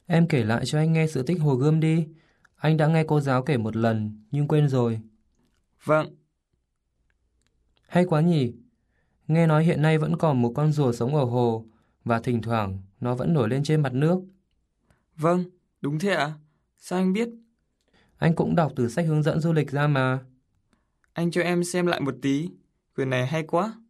Em kể lại cho anh nghe sự tích Hồ Gươm đi. Anh đã nghe cô giáo kể một lần, nhưng quên rồi. Vâng, Hay quá nhỉ? Nghe nói hiện nay vẫn còn một con rùa sống ở hồ, và thỉnh thoảng nó vẫn nổi lên trên mặt nước. vâng, đúng thế ạ. Sao anh biết? Anh cũng đọc từ sách hướng dẫn du lịch ra mà. Anh cho em xem lại một tí. Quyển này hay quá.